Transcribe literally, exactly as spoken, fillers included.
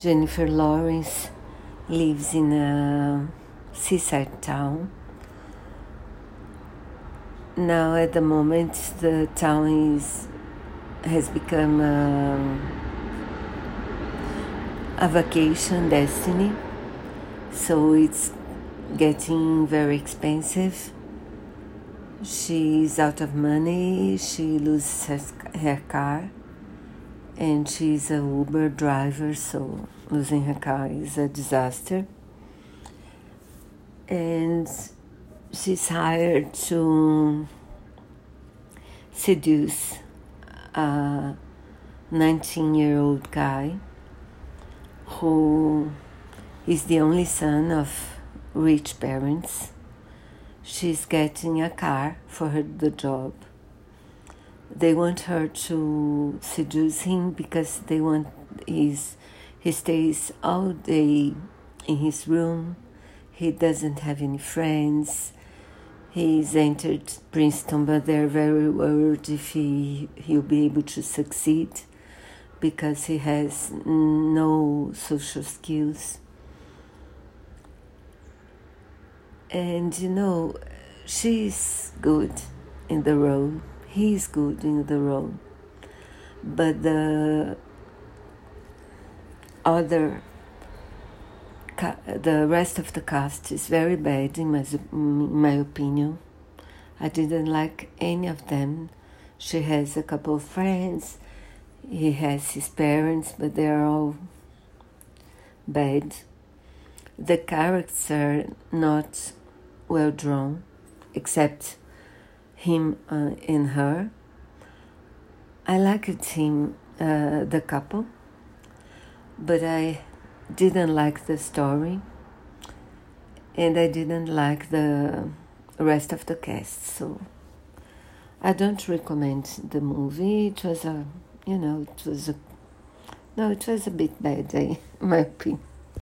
Jennifer Lawrence lives in a seaside town. Now, at the moment, the town is has become a, a vacation destiny, so it's getting very expensive. She's out of money. She loses her, her car, and she's a Uber driver, so losing her car is a disaster. And she's hired to seduce a nineteen-year-old guy who is the only son of rich parents. She's getting a car for her, the job. They want her to seduce him because they want his, he stays all day in his room. He doesn't have any friends. He's entered Princeton, but they're very worried if he, he'll be able to succeed because he has no social skills. And, you know, she's good in the role. He's good in the role. But the other, the rest of the cast is very bad, in my, in my opinion. I didn't like any of them. She has a couple of friends. He has his parents, but they're all bad. The characters are not well drawn, except him uh, and her. I liked him, uh, the couple, but I didn't like the story, and I didn't like the rest of the cast, so I don't recommend the movie. It was a, you know, it was a, no, it was a bit bad, eh, in my opinion.